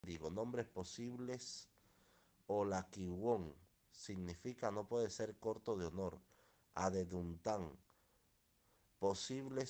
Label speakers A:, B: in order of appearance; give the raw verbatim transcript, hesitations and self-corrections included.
A: Digo, nombres posibles. Olaquiwon significa no puede ser corto de honor. Adeduntán, posibles